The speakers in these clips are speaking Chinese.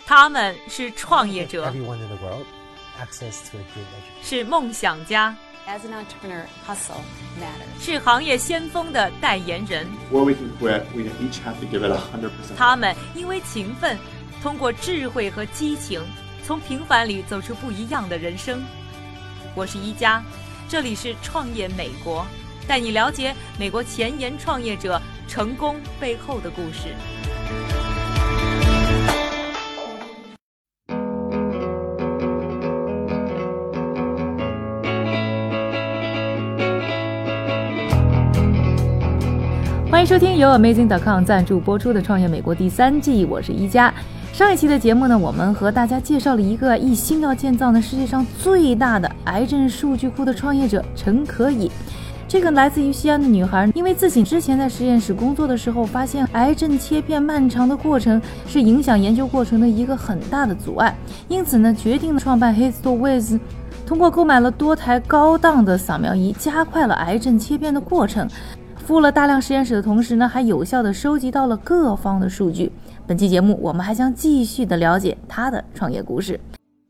他们是创业者，是梦想家，是行业先锋的代言人。他们因为勤奋，通过智慧和激情，从平凡里走出不一样的人生。我是一加，这里是创业美国，带你了解美国前沿创业者成功背后的故事。欢迎收听由 Amazing.com 赞助播出的《创业美国》第3季，我是一加。上一期的节目呢，我们和大家介绍了一个一心要建造世界上最大的癌症数据库的创业者陈可以。这个来自于西安的女孩，因为自己之前在实验室工作的时候，发现癌症切片漫长的过程是影响研究过程的一个很大的阻碍，因此呢，决定创办 HistoWiz， 通过购买了多台高档的扫描仪，加快了癌症切片的过程。服务了大量实验室的同时呢，还有效地收集到了各方的数据。本期节目我们还将继续的了解他的创业故事。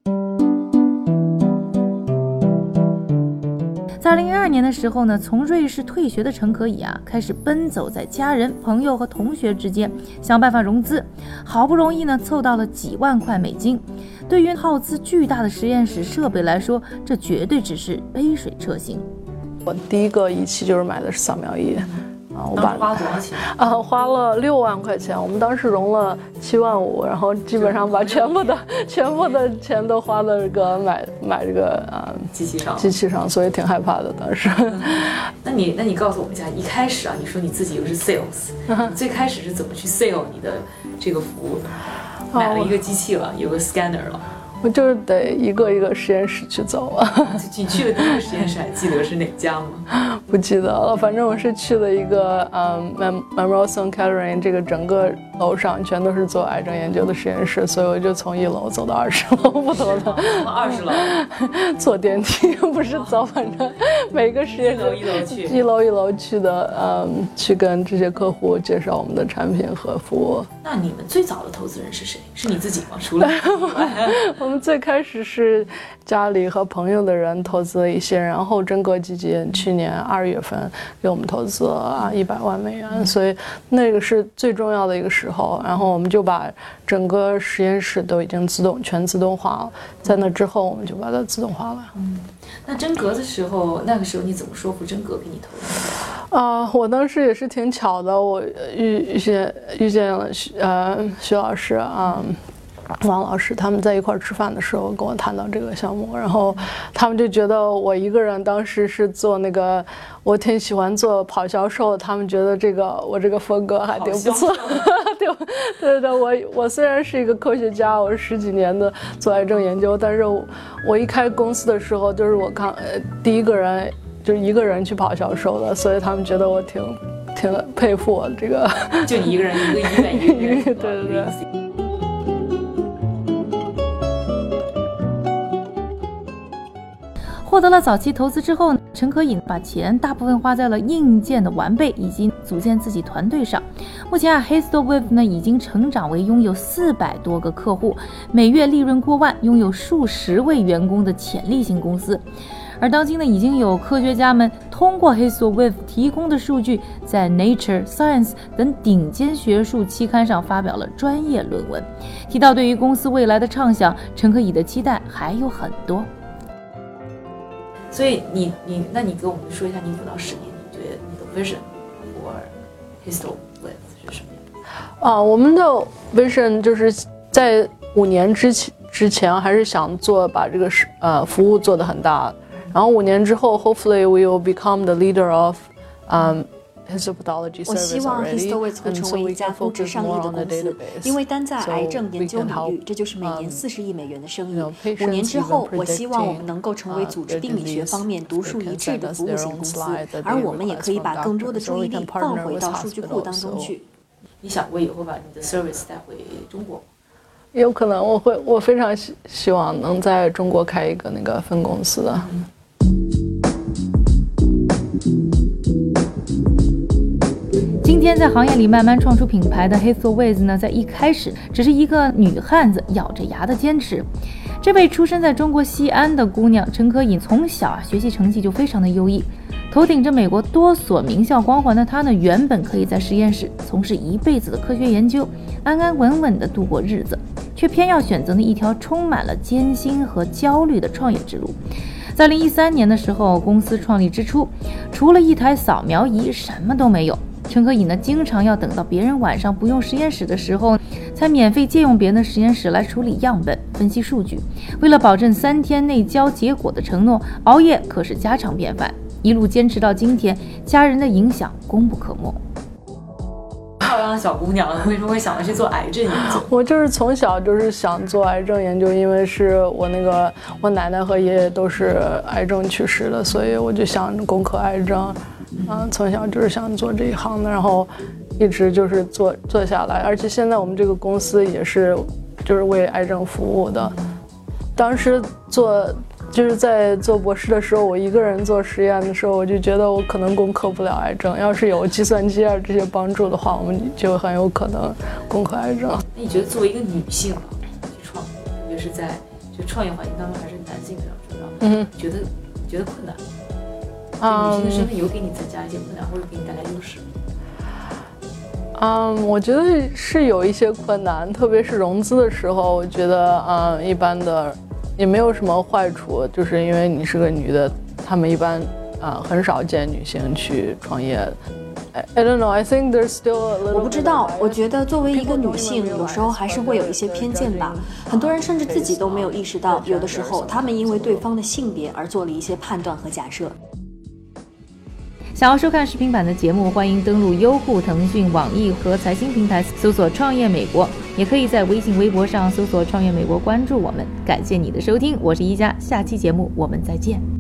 在2012年的时候呢，从瑞士退学的陈可以开始奔走在家人、朋友和同学之间，想办法融资，好不容易呢凑到了几万块美金。对于耗资巨大的实验室设备来说，这绝对只是杯水车薪。 我第一个仪器就是买的是扫描仪， 我花了多少钱？ 花了6万块钱。我们当时融了7万5，然后基本上把全部的钱都花在这个买这个机器上，所以挺害怕的当时。 那你告诉我们一下，一开始你说你自己又是 sales， 你最开始是怎么去 sell 你的这个服务的？买了一个机器了，有个 scanner 了。 我就是得一个一个实验室去走你去的第一个实验室还记得是哪家吗？ 不记得了，反正我是去了一个Memorial Sloan Kettering， 这个整个楼上全都是做癌症研究的实验室，所以我就从1楼走到20楼不同的。 20楼坐电梯不是走，反正每个实验室一楼去的，去跟这些客户介绍我们的产品和服务。 那你们最早的投资人是谁？是你自己吗？除了我们最开始是家里和朋友的人投资了一些，然后真格基金去年2月份给我们投资了100万美元，所以那个是最重要的一个时候。然后我们就把整个实验室都已经全自动化了，在那之后我们就把它自动化了。 那真格的时候，那个时候你怎么说服真格给你投资？ 我当时也是挺巧的，我遇见了徐老师王老师，他们在一块吃饭的时候跟我谈到这个项目，然后他们就觉得我一个人当时是做那个，我挺喜欢做跑销售，他们觉得我这个风格还挺不错。对，我虽然是一个科学家，我是10几年的做癌症研究，但是我一开公司的时候，就是我第一个人就是一个人去跑销售的，所以他们觉得我挺佩服我这个。 就你一个人一个医院一个人。 对。 获得了早期投资之后，陈可以把钱大部分花在了硬件的完备以及组建自己团队上。目前HistoWiz 呢已经成长为拥有400多个客户，每月利润过万，拥有数十位员工的潜力型公司。而当今呢，已经有科学家们通过 HistoWiz 提供的数据，在 Nature、Science 等顶尖学术期刊上发表了专业论文。提到对于公司未来的畅想，陈可以的期待还有很多。所以那你给我们说一下，你5到10年，你觉得你的 vision for HistoWiz 是什么？ 我们的 vision 就是在5年之前还是想把这个服务做得很大，然后5年之后 hopefully we will become the leader of 我希望 HistoWiz 会成为一家估值上亿的公司，因为单在癌症研究领域，这就是每年40亿美元的生意。5年之后，我希望我们能够成为组织病理学方面独树一帜的服务型公司，而我们也可以把更多的注意力放回到数据库当中去。 你想过以后把你的 service 带回中国吗？ 有可能，我非常希望能在中国开一个那个分公司的。 今天在行业里慢慢创出品牌的 Hazel Weiss 呢，在一开始只是一个女汉子咬着牙的坚持。这位出生在中国西安的姑娘陈可颖，从小学习成绩就非常的优异，头顶着美国多所名校光环的她呢，原本可以在实验室从事一辈子的科学研究，安安稳稳地度过日子，却偏要选择了一条充满了艰辛和焦虑的创业之路。在2013年的时候，公司创立之初，除了一台扫描仪，什么都没有。陈可颖呢，经常要等到别人晚上不用实验室的时候，才免费借用别人的实验室来处理样本、分析数据。为了保证3天内交结果的承诺，熬夜可是家常便饭。一路坚持到今天，家人的影响功不可没。漂亮的小姑娘，为什么会想着去做癌症研究？ 我就是从小就是想做癌症研究，因为是我奶奶和爷爷都是癌症去世的，所以我就想攻克癌症。从小就是想做这一行的，然后一直就是做下来，而且现在我们这个公司也是就是为癌症服务的。当时就是在做博士的时候，我一个人做实验的时候，我就觉得我可能攻克不了癌症，要是有计算机啊这些帮助的话，我们就很有可能攻克癌症。 那你觉得作为一个女性去创业，特别是在就创业环境当中还是男性比较重要，觉得困难？女性的身份有给你增加一些困难，或者给你带来优势？ 我觉得是有一些困难，特别是融资的时候，我觉得一般的也没有什么坏处，就是因为你是个女的，他们一般很少见女性去创业。I don't know. I think there's still a little. 我不知道，我觉得作为一个女性，有时候还是会有一些偏见吧。很多人甚至自己都没有意识到，有的时候他们因为对方的性别而做了一些判断和假设。 想要收看视频版的节目，欢迎登录优酷、腾讯、网易和财经平台搜索创业美国，也可以在微信微博上搜索创业美国关注我们。感谢你的收听，我是一加，下期节目我们再见。